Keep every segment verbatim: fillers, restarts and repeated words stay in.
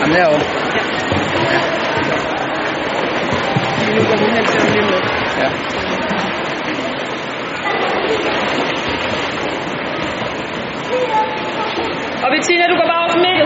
Jamen derovre. Ja. Nu går hun hen til ham lige med. Ja. Og Bettina, du går bare over på midten.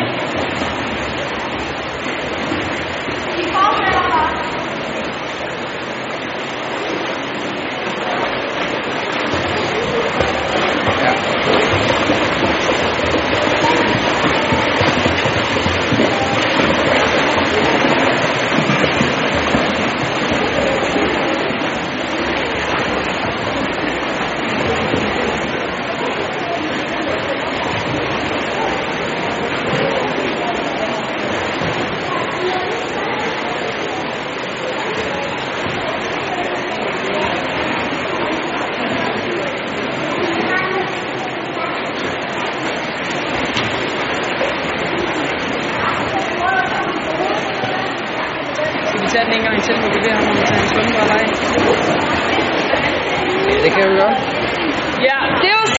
Skal vi tage den en gang til, hvor vi beder ham om at tage en svømmebriller af? Ja, det kan vi gøre. Ja, det var